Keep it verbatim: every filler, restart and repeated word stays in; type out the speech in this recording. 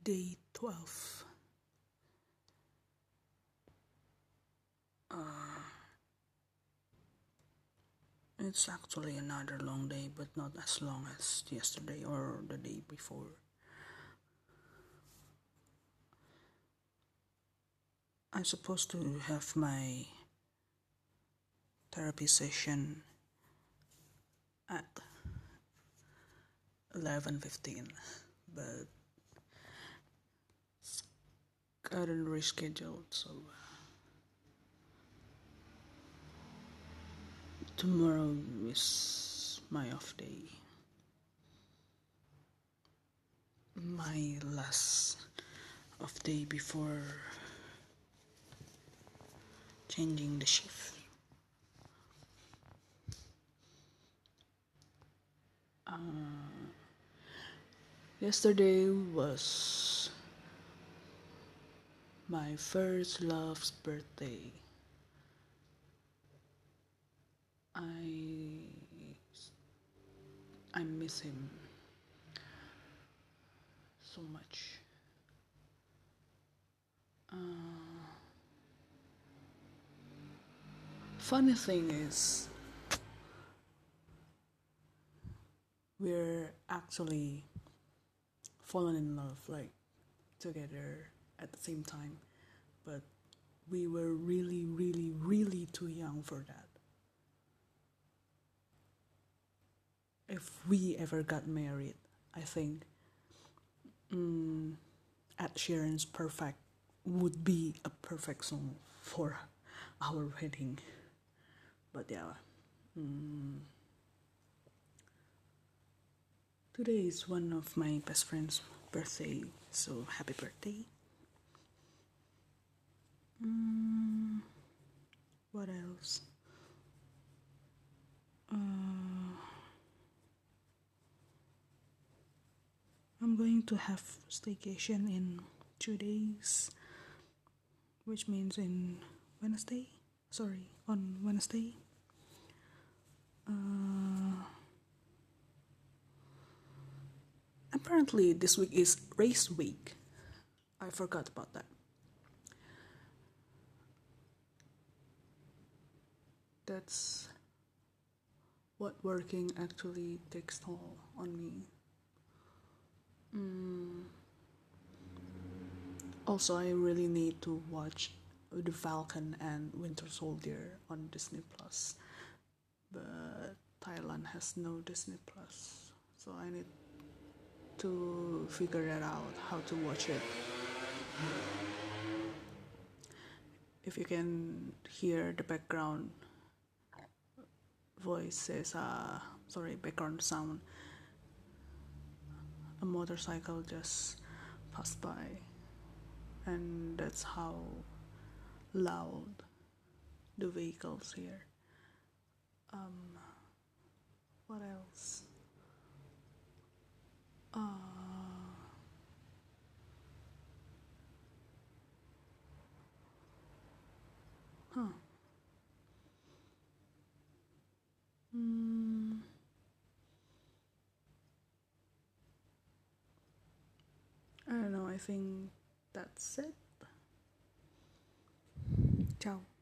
Day twelve. Uh, it's actually another long day, but not as long as yesterday or the day before. I'm supposed to have my therapy session at eleven fifteen, but it's gotten rescheduled, so tomorrow is my off day. My last off day before changing the shift. Uh, yesterday was my first love's birthday. I I miss him so much. Uh, funny thing is, we're actually fallen in love, like together at the same time, but we were really, really, really too young for that. If we ever got married, I think mm, Ed Sheeran's Perfect would be a perfect song for our wedding. But yeah, mm, today is one of my best friend's birthday, so happy birthday. Mm, what else? Uh, I'm going to have staycation in two days, which means in Wednesday. Sorry, on Wednesday. Uh, apparently, this week is race week. I forgot about that. That's what working actually takes toll on me. Mm. Also, I really need to watch The Falcon and Winter Soldier on Disney Plus, but Thailand has no Disney Plus, so I need to figure that out how to watch it. If you can hear the background voices, uh, sorry, background sound, a motorcycle just passed by, and that's how loud the vehicles here. Um, what else? Uh, huh. Mm, I don't know, I think that's it. Ciao.